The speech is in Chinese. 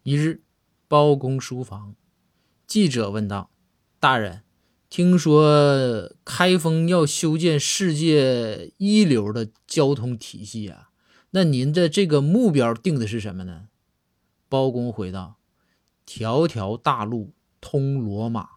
一日，包公书房，记者问道：大人，听说开封要修建世界一流的交通体系啊，那您的这个目标定的是什么呢？包公回道：条条大路通罗马。